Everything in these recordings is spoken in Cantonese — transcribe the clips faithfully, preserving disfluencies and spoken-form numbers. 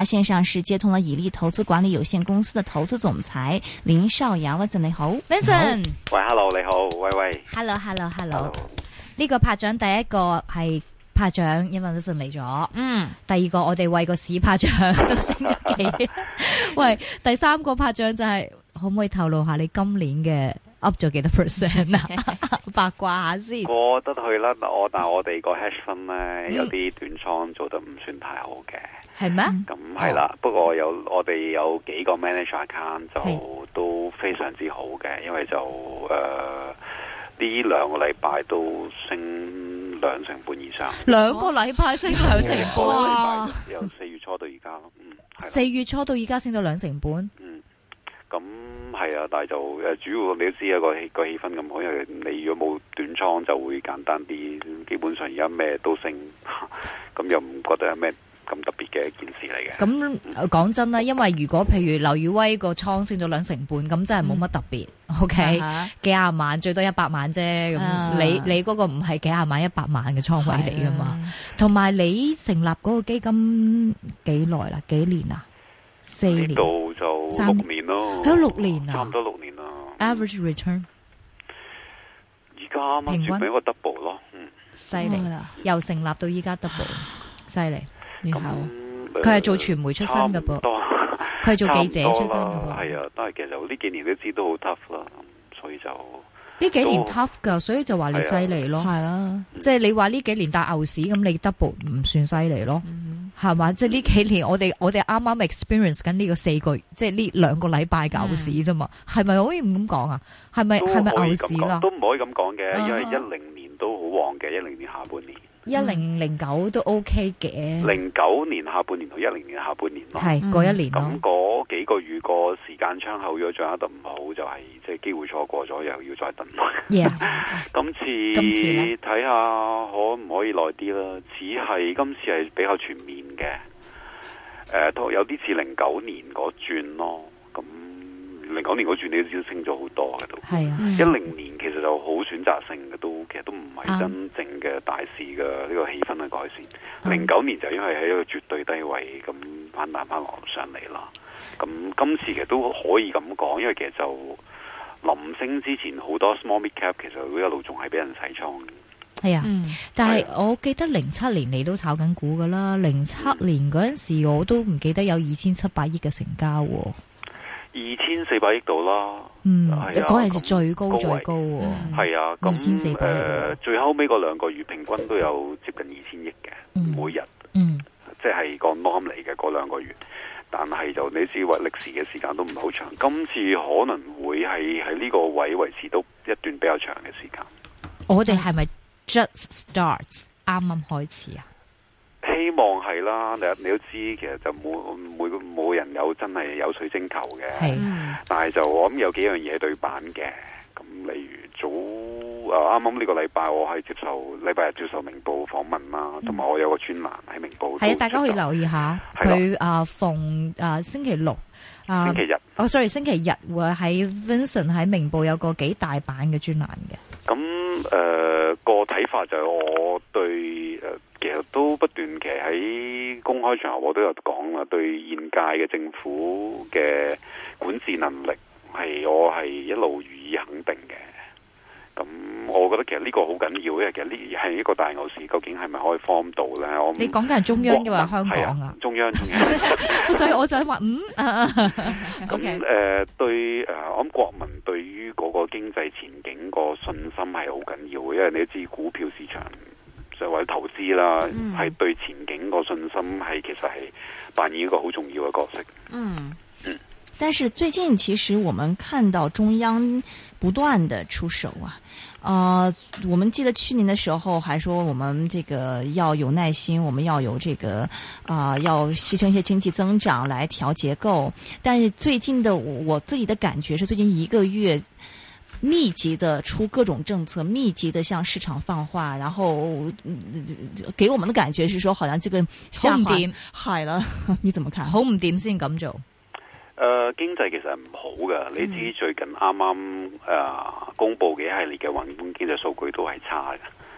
線上是接通了以利投資管理有限公司的投資總裁林少陽 Vincent 你好 Vincent 喂 Hello 你好喂喂 Hello Hello Hello 呢個拍掌第一個係拍掌，因為 Vincent 嚟咗。嗯，第二個我哋為個市拍掌都升咗幾。喂，第三個拍掌就係、是、可唔可以透露下你今年嘅 up 咗幾多 percent 啊？八卦下先。 過得去啦，我但係我哋個 hedge fund 咧有啲短倉做得唔算太好嘅。係咩？咁係啦，不過有我哋有幾個 manager account 就都非常之好嘅，因為就誒呢兩個禮拜都升兩成半以上。兩個禮拜升兩成半，由四月初到而家咯。嗯， 四月初到而家升到兩成半。 嗯，咁係啊，但係就誒主要你都知啊個氣個氣氛咁好，因為你如果冇短倉就會簡單啲，基本上而家咩都升，咁又唔覺得有咩咁特別嘅一件事嚟嘅。 咁講真啦，因為如果譬如劉宇威個倉升咗兩成半，咁真係冇乜特別。嗯、o、okay? K，、uh-huh. 幾廿萬最多一百萬啫。咁、uh-huh. 你你嗰個唔係幾廿萬一百萬嘅倉位嚟噶嘛？同埋、uh-huh. 你成立嗰個基金幾耐啦？幾年啊？四年到就六年咯。 有六年啊？ 差唔多六年啦。 Average return 而家啱啱轉俾一個 double 咯。嗯， 犀利、嗯，由成立到依家 double， 犀利。咁佢係做傳媒出身嘅噃，佢係做記者出身嘅噃。 係啊，但係其實呢幾年都知都好 tough 啦，所以就呢幾年 tough 噶，所以就話你犀利咯。係啊，即係你話呢幾年大牛市，咁你 double 唔算犀利咯，係、嗯、嘛？即係呢幾年我哋我哋啱啱 experience 緊呢個四個月，即係呢兩個禮拜牛市啫嘛，係、嗯、咪可以咁講啊？係咪係咪牛市啦？ 都唔可以咁講嘅，因為一零年都好旺嘅，一零年下半年。 一零零九都 OK 嘅， 零九年下半年同一零年下半年咯， 係嗰一年咯。 咁嗰幾個月個時間窗口，如果掌握得唔好，就係即係機會錯過咗，又要再等。 Yeah. 今次睇下可唔可以耐啲啦？只係今次係比較全面嘅，誒、呃，有啲似零九年嗰轉咯。咁零九年嗰轉你都知升咗好多嘅都，係啊。一零年其實就好選擇性嘅，都其實都唔係真正嘅大市嘅呢個氣氛嘅改善。零、嗯、九年就因為喺一個絕對低位咁反彈翻落上嚟啦。咁今次其實都可以咁講，因為其實就臨升之前好多 small mid cap 其實會一路仲係俾人洗倉嘅。係啊、嗯， 但係我記得零七年你都炒緊股噶啦，零七年嗰陣時我都唔記得有二千七百億嘅成交。 二千四百億度啦， 嗯，嗰陣時最高最高， 係啊， 二千四百億， 誒，最後尾嗰兩個月平均都有接近二千億嘅、嗯，每日，嗯，即係個 norm 嚟嘅嗰兩個月，但係就你知話歷史嘅時間都唔係好長，今次可能會係喺呢個位維持到一段比較長嘅時間。 我哋係咪 just starts 啱啱開始啊？ 希望係啦，你你都知，其實就冇冇冇人有真係有水晶球嘅，但係就我諗有幾樣嘢對版嘅。咁例如早啊，啱啱呢個禮拜我係接受禮拜日接受明報訪問啦，同、嗯、埋我有個專欄喺明報。係啊， 大家可以留意下佢啊，逢啊星期六啊， 星期日， 哦，sorry， 星期日會喺 Vincent 喺明報有個幾大版嘅專欄嘅。 咁誒、呃、個睇法就係我對誒。呃其實都不斷，其實喺公開場合我都有講啦，對現屆嘅政府嘅管治能力係我係一路予以肯定嘅。咁我覺得其實呢個好緊要，因為其實呢係一個大牛市，究竟係咪可以 form 到咧？我你講緊係中央嘅話，香港啊，中央中央， 所以我就話嗯， 咁誒、呃、對誒、呃，我諗國民對於嗰個經濟前景個信心係好緊要嘅，因為你都知股票市場。就或者投資啦，係、嗯、對前景個信心係其實係扮演一個好重要嘅角色。嗯嗯， 但是最近其實我們看到中央不斷的出手啊，呃，我們記得去年的時候還說我們這個要有耐心，我們要有這個啊、呃，要犧牲一些經濟增長來調結構。但是最近的我自己的感覺是，最近一個月。密集的出各種政策，密集的向市場放話，然後、嗯、給我們的感覺是說，好像這個下滑係啦，你怎麼看？好唔掂先咁做？ 誒、呃，經濟其實唔好㗎，你知最近啱啱誒公布嘅一系列嘅宏觀經濟數據都係差嘅。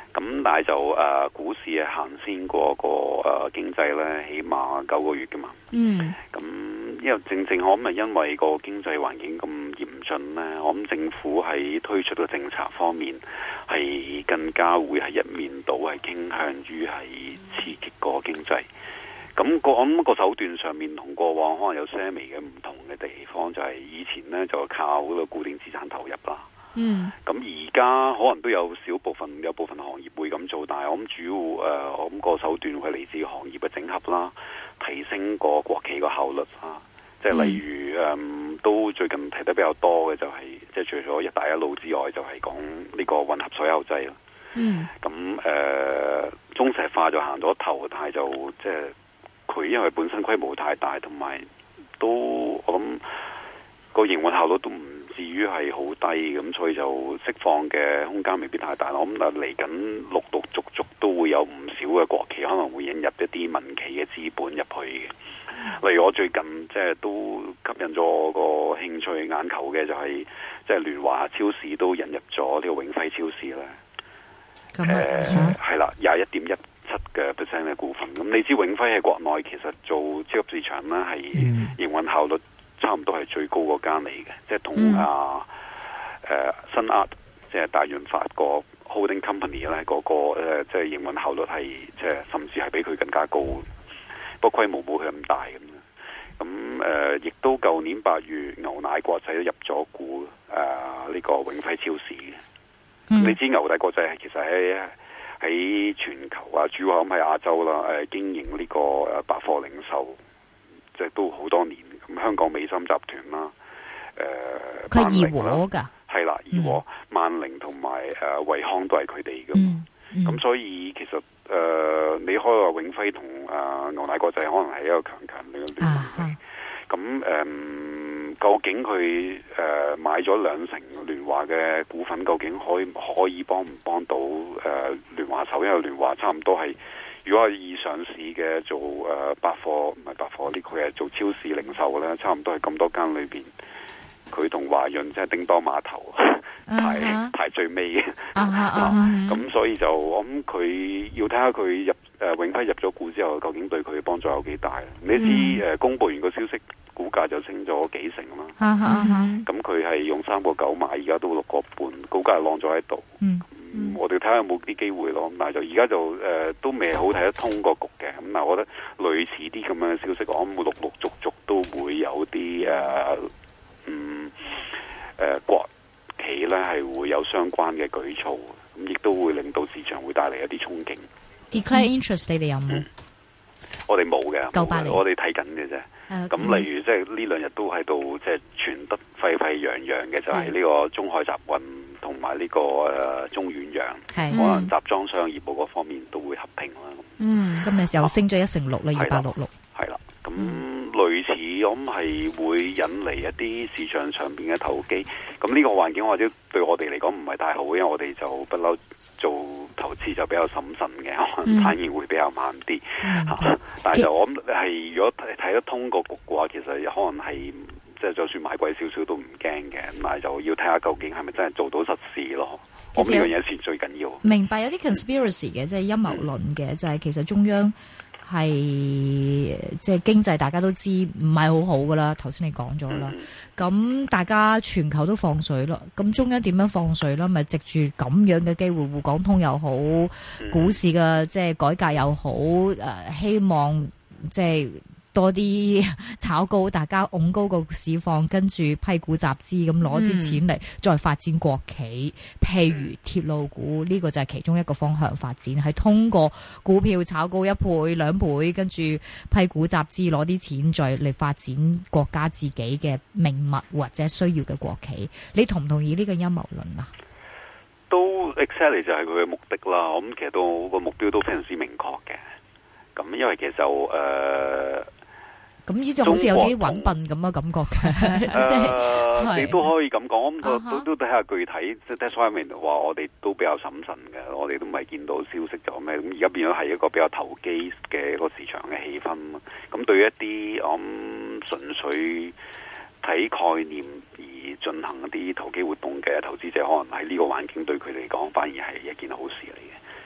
咁但係就誒、呃、股市係行先過個誒、呃、經濟咧，起碼九個月噶嘛。 嗯。 咁因為正正我諗係因為個經濟環境咁嚴峻咧，我諗政府喺推出嘅政策方面係更加會係一面倒係傾向於係刺激個經濟。咁、那個我諗個手段上面同過往可能有些微嘅唔同嘅地方，就係以前咧就靠嗰個固定資產投入啦。 嗯， 咁而家可能都有少部分有部分行業會咁做，但係我諗主要誒、呃，我諗個手段會嚟自行業嘅整合啦，提升個國企個效率啊，即係例如誒、嗯，都最近提得比較多嘅就係、是，即係除咗一帶一路之外，就係講呢個混合所有制啦。 嗯， 咁誒、呃，中石化就行咗頭，但係就即係佢因為本身規模太大，同埋都我諗個營運效率都唔至於係好低，咁所以就釋放嘅空間未必太大。我諗嚟緊陸陸續續都會有唔少嘅國企可能會引入一啲民企嘅資本入去嘅。例如我最近即係都吸引咗我個興趣眼球嘅就係即係聯華超市都引入咗呢個永輝超市咧。誒係啦，廿一點一七嘅 percent 嘅股份。咁你知永輝喺國內其實做超級市場咧係營運效率差唔多係最高嗰間嚟嘅，即係同、嗯、啊誒、呃、新亞即係大潤發個 holding company 咧嗰、那個誒、呃、即係營運效率係即係甚至係比佢更加高，不過規模冇佢咁大咁。咁誒亦都舊年八月牛奶國際都入咗股誒呢、呃這個永輝超市嘅。嗯、你知牛奶國際係其實喺喺全球啊，主要咁喺亞洲啦，誒、呃、經營呢個誒百貨零售，即係都好多年。咁香港美心集團啦，誒佢係怡和噶，係啦，怡和、萬寧同埋誒惠康都係佢哋嘅。咁、嗯嗯、所以其實誒、呃、你開個永輝同誒牛奶國際可能係一個強強嘅聯繫。咁誒、呃，究竟佢誒、呃、買咗兩成聯華嘅股份，究竟可以可以幫唔幫到誒聯華手？因為聯華差唔多係，如果係以上市嘅做誒、呃、百貨唔係百貨，呢佢係做超市零售咧，差唔多係咁多間裏邊，佢同華潤即係叮當碼頭排、uh-huh. 排最尾嘅。咁、uh-huh. 啊、所以就我諗佢要睇下佢入誒、呃、永輝入咗股之後，究竟對佢嘅幫助有幾大？你知誒、呃、公佈完個消息，股價就升咗幾成啦。咁佢係用三個九買，而家都六個半，股價晾咗喺度。嗯嗯、我哋睇下有冇啲機會咯。但係就而家就誒、呃、都未好睇得通個局嘅。咁但係我覺得類似啲咁樣嘅消息，我諗會陸陸續續都會有啲誒、呃、嗯誒、呃、國企咧係會有相關嘅舉措，咁亦都會令到市場會帶嚟一啲憧憬。 Declare interest 你哋有冇、嗯？ 我哋冇嘅， 九八年我哋睇緊嘅啫。咁、uh, 例如即係呢兩日都喺度即係傳得沸沸揚揚嘅，就係、是、呢個中海集運同埋呢個誒、呃、中遠洋，可能集裝箱業務嗰方面都會合併啦。 嗯，今日又升咗一成六啦，二八六六。 係啦，咁、嗯、類似我諗係會引嚟一啲市場上邊嘅投機。咁呢個環境或者對我哋嚟講唔係太好，因為我哋就不嬲做投資就比較審慎嘅，可能反應會比較慢啲、嗯啊、但係就我諗係如果睇得通個局嘅話，其實可能係即係就算買貴少少都唔驚嘅，但係就要睇下究竟係咪真係做到實事咯。我呢樣嘢先最緊要。 明白有啲 conspiracy 嘅，即係陰謀論嘅，就係、是、其實中央係即係經濟大家都知唔係好好噶啦。頭先你講咗啦，咁、嗯、大家全球都放水咯，咁中央點樣放水啦？咪藉住咁樣嘅機會，滬港通又好，股市嘅即係改革又好，誒、呃，希望即係多啲炒高，大家拱高個市況，跟住批股集資咁攞啲錢嚟再發展國企，譬如鐵路股呢、這個就係其中一個方向發展，係通過股票炒高一倍兩倍，跟住批股集資攞啲錢再嚟發展國家自己嘅命脈或者需要嘅國企。你同唔同意呢個陰謀論啊？ 都 exactly 就係佢嘅目的啦。我諗其實都個目標都非常之明確嘅。咁因為其實就誒。呃咁呢就好似有啲揾笨咁嘅感覺嘅，即係、呃、 你都可以咁講，咁、uh-huh. 都都睇下具體。即係 that's why I mean 話我哋都比較審慎嘅，我哋都唔係見到消息就咩。咁而家變咗係一個比較投機嘅一個市場嘅氣氛。咁對於一啲我諗純粹睇概念而進行一啲投機活動嘅投資者，可能喺呢個環境對佢嚟講反而係一件好事嚟嘅。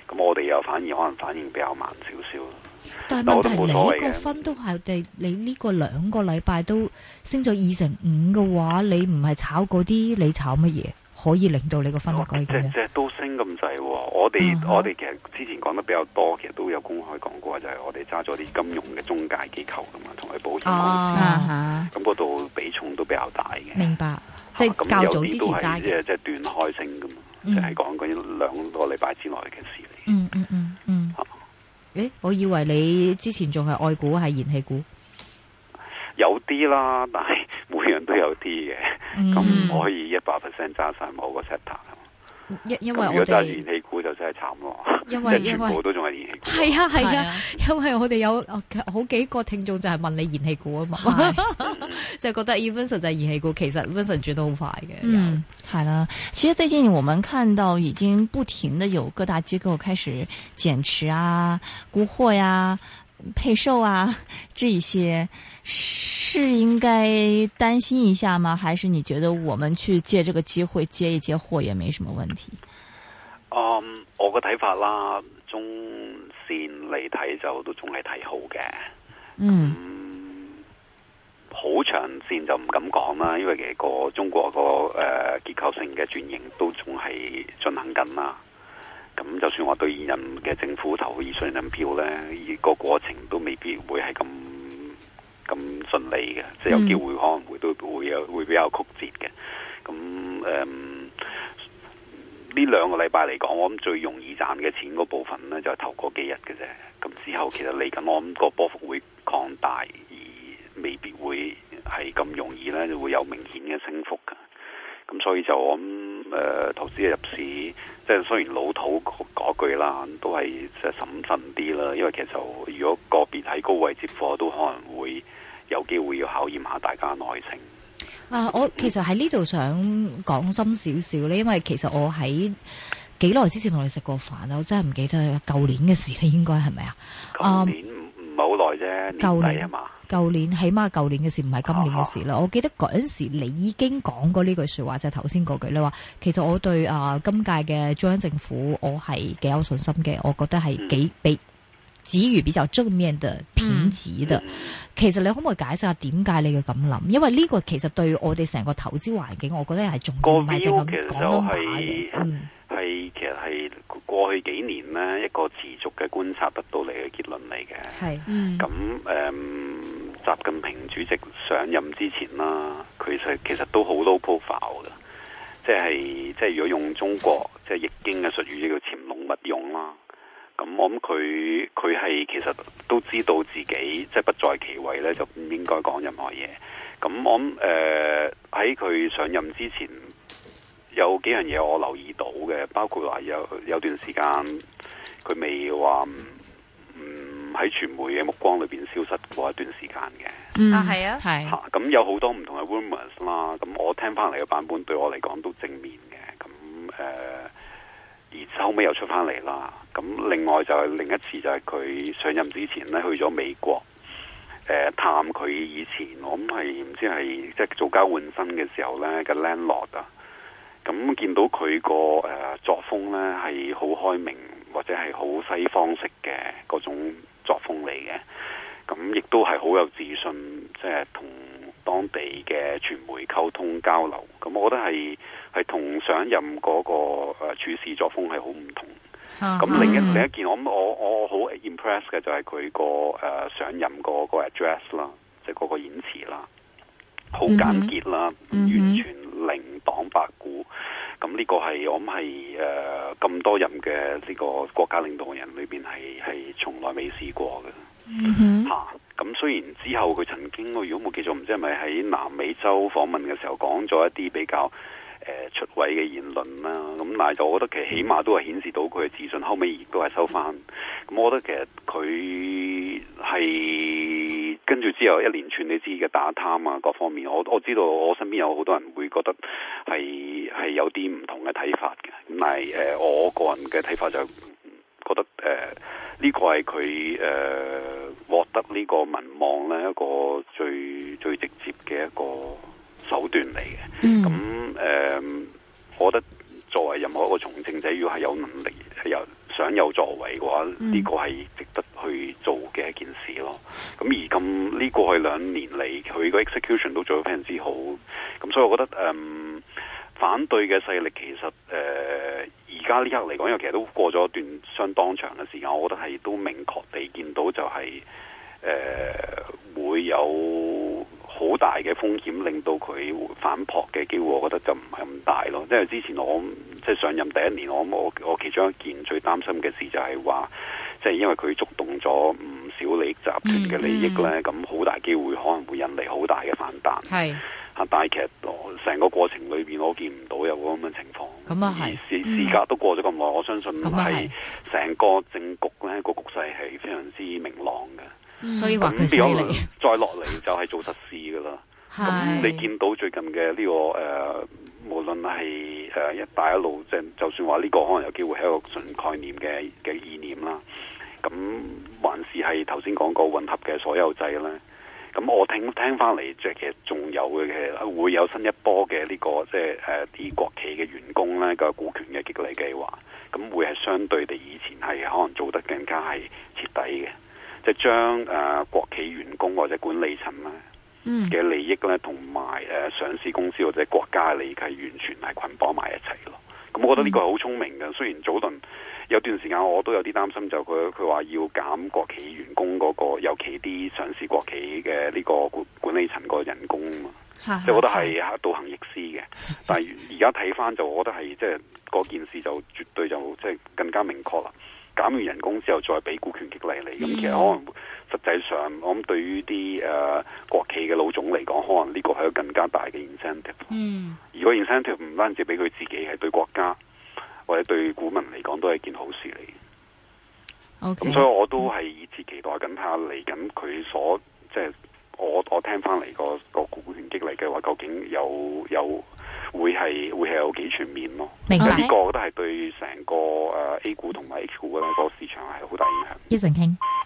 咁我哋又反而可能反應比較慢少少。 但係問題你個分都係地，你呢個兩個禮拜都升咗二成五嘅話，你唔係炒嗰啲，你炒乜嘢可以令到你個分可以咁樣？ 隻隻都升咁滯，我哋、uh huh. 我哋其實之前講得比較多，其實都有公開講過，就係、是、我哋揸咗啲金融嘅中介機構噶嘛，同佢保險公司，咁嗰度比重都比較大嘅。 明白，即係較早之前揸嘅， 即係即係斷開升噶嘛，即係講緊兩個禮拜之內嘅事嚟。 嗯嗯嗯嗯。誒，我以為你之前仲係愛股，係燃氣股。 有啲啦，但係每樣都有啲嘅，咁唔、嗯、可以一百 percent 揸晒某個 sector。 因因為我哋如果揸燃氣股就真係慘咯， 因為全部都仲係燃氣股。 係啊係啊，因為我哋有好幾個聽眾就係問你燃氣股啊嘛，就覺得 Vincent 就係燃氣股，其實 Vincent 轉得好快嘅。 嗯，係啦。其實最近我們看到已經不停的有各大機構開始減持啊、沽貨呀、配售啊，這一些是應該擔心一下嗎？還是你覺得我們去借這個機會接一接貨也沒什麼問題？ 嗯，我個睇法啦，中線嚟睇就都仲係睇好嘅。 嗯， 好、嗯、長線就唔敢講啦，因為其實個中國個誒、呃、結構性嘅轉型都仲係進行緊啦。咁就算我對現任嘅政府投以信任票呢，而個過程都未必會係咁咁順利嘅，即係有機會可能會都會有會比較曲折嘅。咁誒呢兩個禮拜嚟講，我諗最容易賺嘅錢嗰部分呢，就係頭嗰幾日嘅啫。咁之後其實嚟緊，我諗個波幅會擴大，而未必會係咁容易呢，就會有明顯嘅升幅嘅。咁所以就我諗誒、呃、投資入市，即係雖然老土嗰句啦，都係即係審慎啲啦。因為其實就如果個別喺高位接貨，都可能會有機會要考驗下大家耐性。 啊，我其實喺呢度想講深少少咧，因為其實我喺幾耐之前同你食過飯啊，我真係唔記得舊年嘅事咧，應該係咪啊？ 舊年唔唔係好耐啫， 舊年啊嘛。 舊年起碼舊年嘅事，唔係今年嘅事啦。啊、我記得嗰陣時你已經講過呢句說話，就係頭先嗰句，你話其實我對啊、呃、今屆嘅中央政府我係幾有信心嘅，我覺得係幾比給予比較正面嘅評級嘅。嗯、其實你可唔可以解釋下點解你嘅咁諗？因為呢個其實對我哋成個投資環境，我覺得係重要，唔係淨咁講咁話嘅。嗯，係其實係過去幾年呢一個持續嘅觀察得到嚟嘅結論嚟嘅。係，咁誒。習近平主席上任之前啦，佢其實其實都好 low profile 嘅，即係即係如果用中國即係易經嘅術語，叫潛龍勿用啦。咁我諗佢佢係其實都知道自己即係不在其位咧，就唔應該講任何嘢。咁我諗誒喺佢上任之前，有幾樣嘢我留意到嘅，包括話有有段時間佢未話。喺傳媒嘅目光裏邊消失過一段時間嘅。 嗯、啊係啊係， 咁有好多唔同嘅 rumors 啦，咁我聽翻嚟嘅版本對我嚟講都正面嘅，咁誒、呃，而後尾又出翻嚟啦，咁另外就係另一次就係佢上任之前咧去咗美國，誒、呃、探佢以前我諗係唔知係即係做交換生嘅時候咧嘅 landlord 啊，咁見到佢個誒作風咧係好開明或者係好西方式嘅嗰種作風嚟嘅，咁亦都係好有自信，即係同當地嘅傳媒溝通交流。咁我覺得係係同上一任嗰個誒處事作風係好唔同。咁、uh huh. 另一另一件我我我好 impress 嘅就係佢個誒上任嗰個 address 啦，即係嗰個演辭啦，好簡潔啦，uh huh. 完全零黨派股。咁呢個係我諗係誒咁多任嘅呢個國家領導人裏邊係係從來未試過嘅嚇。咁、mm hmm. 啊、雖然之後佢曾經我如果冇記錯，唔知係咪喺南美洲訪問嘅時候講咗一啲比較誒、呃、出位嘅言論啦。咁但係就我覺得其實起碼都係顯示到佢嘅自信，後尾亦都係收翻。咁我覺得其實佢係跟住之後一連串你知嘅打貪啊各方面，我我知道我身邊有好多人會覺得係係有啲唔同嘅睇法嘅。咁但係誒、呃、我個人嘅睇法就覺得誒呢、呃這個係佢誒獲得呢個民望咧一個最最直接嘅一個手段嚟嘅。咁誒、嗯呃、我覺得作為任何一個從政者，要係有能力係有想有作為嘅話，呢、 嗯、 個係值得去做嘅一件事咯。咁而咁呢過去兩年嚟，佢個 execution 都做得非常之好。咁所以我覺得誒、嗯，反對嘅勢力其實誒而家呢刻嚟講，因為其實都過咗一段相當長嘅時間，我覺得係都明確地見到就係、是、誒、呃、會有好大嘅風險，令到佢反撲嘅機會，我覺得就唔係咁大咯。因為之前我即係上任第一年，我我我其中一件最擔心嘅事就係話，即係因為佢觸動咗唔少利益集團嘅利益咧，咁好、嗯嗯、大機會可能會引嚟好大嘅反彈。係嚇，但係其實成個過程裏邊，我見唔到有咁嘅情況。咁啊係，時時隔都過咗咁耐，我相信係成個政局咧個局勢係非常之明朗嘅。 所以話佢犀利， 再落嚟就係做實事噶啦。咁你見到最近嘅呢、這個誒、呃，無論係誒一帶一路，即係就算話呢個可能有機會係一個純概念嘅嘅意念啦。咁還是係頭先講過混合嘅所有制咧。咁我聽聽翻嚟，即係其實仲有嘅，其實會有新一波嘅呢、這個即係誒啲國企嘅員工咧個股權嘅激勵計劃。咁會係相對地以前係可能做得更加係徹底嘅。即係將誒國企員工或者管理層咧嘅利益咧，同埋誒上市公司或者國家嘅利益係完全係捆綁埋一齊咯。咁我覺得呢個係好聰明嘅。雖然早輪有段時間我都有啲擔心，就佢佢話要減國企員工嗰、嗰個，尤其啲上市國企嘅呢個管管理層個人工啊嘛。即係我覺得係倒行逆施嘅。但係而家睇翻就，我覺得係即係嗰件事就絕對就即係更加明確啦。減完人工之後再俾股權激勵你，咁、嗯、其實可能實際上，我諗對於啲誒、呃、國企嘅老總嚟講，可能呢個係一個更加大嘅 incentive。嗯，如果 incentive 唔單止俾佢自己，係對國家或者對股民嚟講，都係件好事嚟。OK，咁所以我都係以此期待緊下嚟緊佢所即係我我聽翻嚟個個股權激勵嘅話，究竟有有會係會係有幾全面咯？明白，呢個我覺得係對成個誒 A 股同埋 H 股咧個市場係好大影響。 一陣傾。